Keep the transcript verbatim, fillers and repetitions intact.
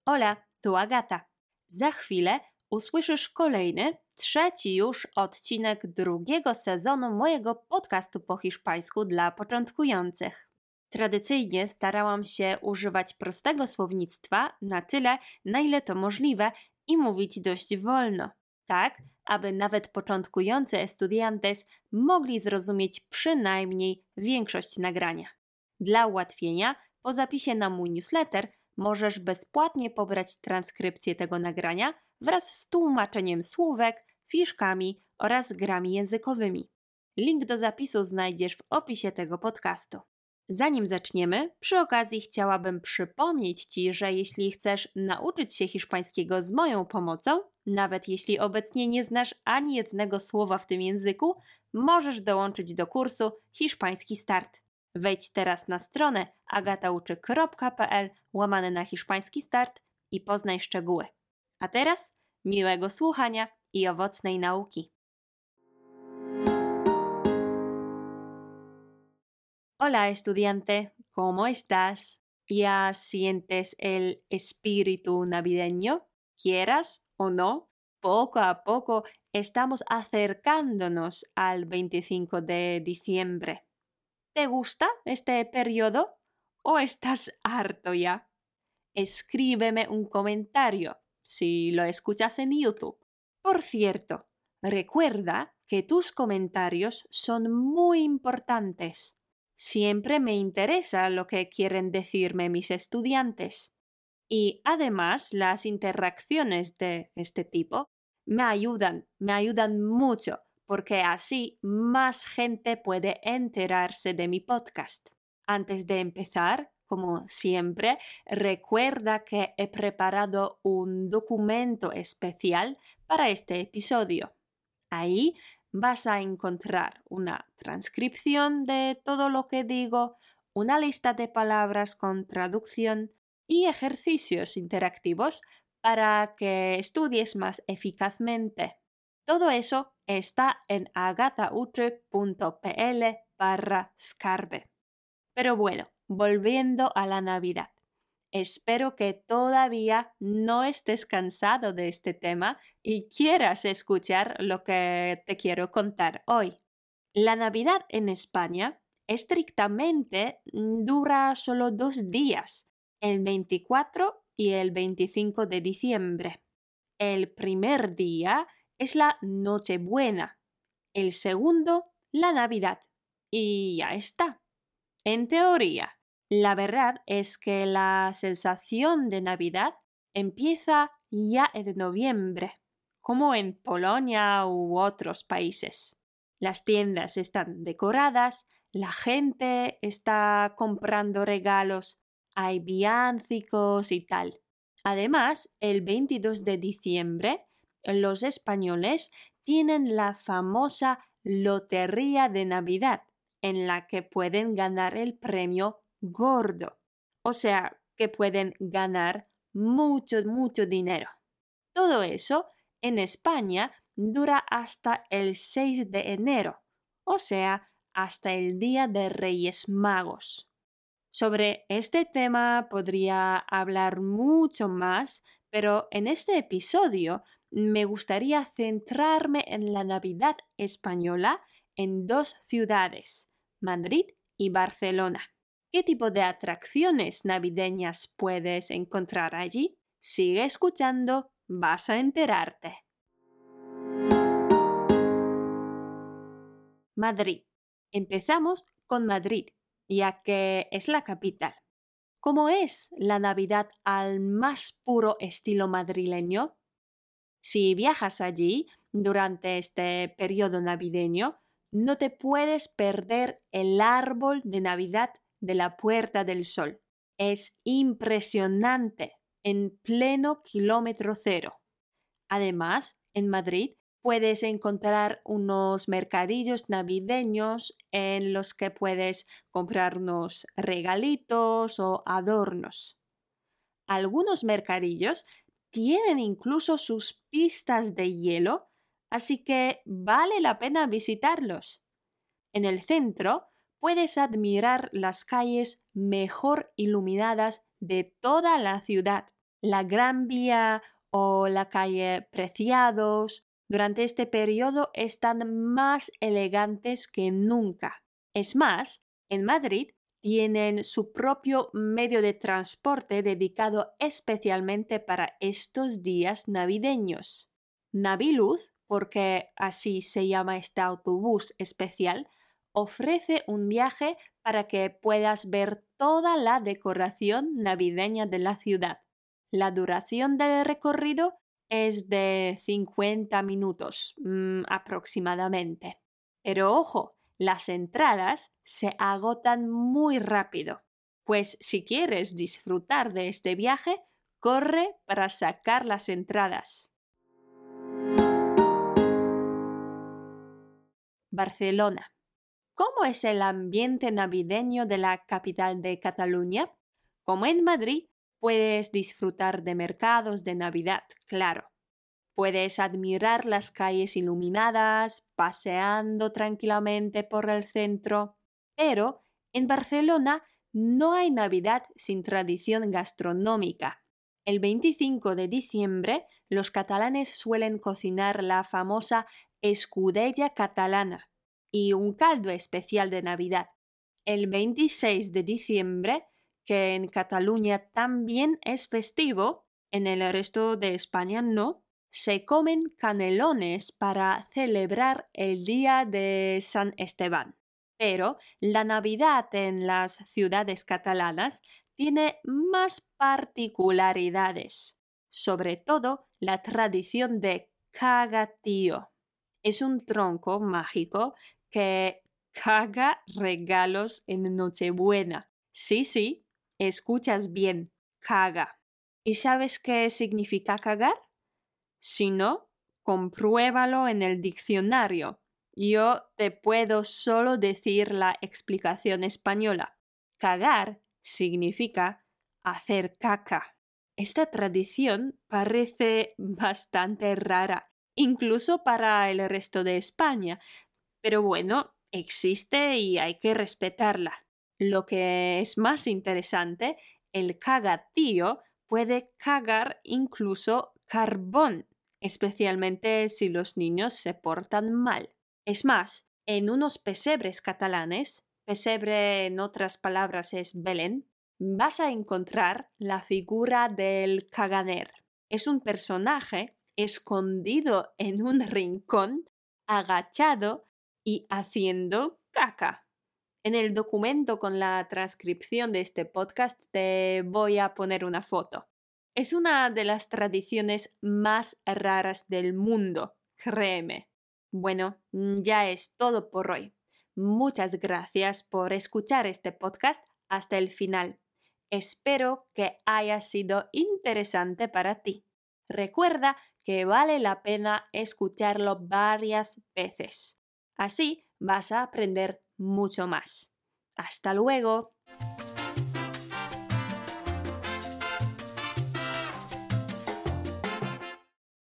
Hola, tu Agata. Za chwilę usłyszysz kolejny, trzeci już odcinek drugiego sezonu mojego podcastu po hiszpańsku dla początkujących. Tradycyjnie starałam się używać prostego słownictwa na tyle, na ile to możliwe i mówić dość wolno, tak aby nawet początkujący estudiantes mogli zrozumieć przynajmniej większość nagrania. Dla ułatwienia, po zapisie na mój newsletter możesz bezpłatnie pobrać transkrypcję tego nagrania wraz z tłumaczeniem słówek, fiszkami oraz grami językowymi. Link do zapisu znajdziesz w opisie tego podcastu. Zanim zaczniemy, przy okazji chciałabym przypomnieć Ci, że jeśli chcesz nauczyć się hiszpańskiego z moją pomocą, nawet jeśli obecnie nie znasz ani jednego słowa w tym języku, możesz dołączyć do kursu Hiszpański Start. Wejdź teraz na stronę agatauczy kropka pe el łamane na hiszpański start i poznaj szczegóły. A teraz miłego słuchania i owocnej nauki. Hola estudiante, ¿cómo estás? ¿Ya sientes el espíritu navideño? ¿Quieras o no? Poco a poco estamos acercándonos al veinticinco de diciembre. ¿Te gusta este periodo o estás harto ya? Escríbeme un comentario si lo escuchas en YouTube. Por cierto, recuerda que tus comentarios son muy importantes. Siempre me interesa lo que quieren decirme mis estudiantes. Y además las interacciones de este tipo me ayudan, me ayudan mucho, porque así más gente puede enterarse de mi podcast. Antes de empezar, como siempre, recuerda que he preparado un documento especial para este episodio. Ahí vas a encontrar una transcripción de todo lo que digo, una lista de palabras con traducción y ejercicios interactivos para que estudies más eficazmente. Todo eso está en agatauche punto pe ele barra scarbe. Pero bueno, volviendo a la Navidad. Espero que todavía no estés cansado de este tema y quieras escuchar lo que te quiero contar hoy. La Navidad en España estrictamente dura solo dos días, el veinticuatro y el veinticinco de diciembre. El primer día es la Nochebuena, el segundo la Navidad y ya está. En teoría, la verdad es que la sensación de Navidad empieza ya en noviembre, como en Polonia u otros países. Las tiendas están decoradas, la gente está comprando regalos, hay villancicos y tal. Además, el veintidós de diciembre, los españoles tienen la famosa Lotería de Navidad, en la que pueden ganar el premio gordo, o sea, que pueden ganar mucho, mucho dinero. Todo eso en España dura hasta el seis de enero, o sea, hasta el Día de Reyes Magos. Sobre este tema podría hablar mucho más, pero en este episodio me gustaría centrarme en la Navidad española en dos ciudades, Madrid y Barcelona. ¿Qué tipo de atracciones navideñas puedes encontrar allí? Sigue escuchando, vas a enterarte. Madrid. Empezamos con Madrid, ya que es la capital. ¿Cómo es la Navidad al más puro estilo madrileño? Si viajas allí durante este periodo navideño, no te puedes perder el árbol de Navidad de la Puerta del Sol. Es impresionante, en pleno kilómetro cero. Además, en Madrid puedes encontrar unos mercadillos navideños en los que puedes comprar unos regalitos o adornos. Algunos mercadillos tienen incluso sus pistas de hielo, así que vale la pena visitarlos. En el centro puedes admirar las calles mejor iluminadas de toda la ciudad. La Gran Vía o la calle Preciados durante este periodo están más elegantes que nunca. Es más, en Madrid tienen su propio medio de transporte dedicado especialmente para estos días navideños. Naviluz, porque así se llama este autobús especial, ofrece un viaje para que puedas ver toda la decoración navideña de la ciudad. La duración del recorrido es de cincuenta minutos mmm, aproximadamente. Pero ojo, las entradas se agotan muy rápido, pues si quieres disfrutar de este viaje, corre para sacar las entradas. Barcelona. ¿Cómo es el ambiente navideño de la capital de Cataluña? Como en Madrid, puedes disfrutar de mercados de Navidad, claro. Puedes admirar las calles iluminadas, paseando tranquilamente por el centro. Pero en Barcelona no hay Navidad sin tradición gastronómica. El veinticinco de diciembre, los catalanes suelen cocinar la famosa escudella catalana y un caldo especial de Navidad. El veintiséis de diciembre, que en Cataluña también es festivo, en el resto de España no, se comen canelones para celebrar el día de San Esteban. Pero la Navidad en las ciudades catalanas tiene más particularidades, sobre todo la tradición de cagatío. Es un tronco mágico que caga regalos en Nochebuena. Sí, sí, escuchas bien, caga. ¿Y sabes qué significa cagar? Si no, compruébalo en el diccionario. Yo te puedo solo decir la explicación española. Cagar significa hacer caca. Esta tradición parece bastante rara, incluso para el resto de España, pero bueno, existe y hay que respetarla. Lo que es más interesante, el cagatío puede cagar incluso carbón, especialmente si los niños se portan mal. Es más, en unos pesebres catalanes, pesebre en otras palabras es Belén, vas a encontrar la figura del caganer. Es un personaje escondido en un rincón, agachado y haciendo caca. En el documento con la transcripción de este podcast te voy a poner una foto. Es una de las tradiciones más raras del mundo, créeme. Bueno, ya es todo por hoy. Muchas gracias por escuchar este podcast hasta el final. Espero que haya sido interesante para ti. Recuerda que vale la pena escucharlo varias veces. Así vas a aprender mucho más. ¡Hasta luego!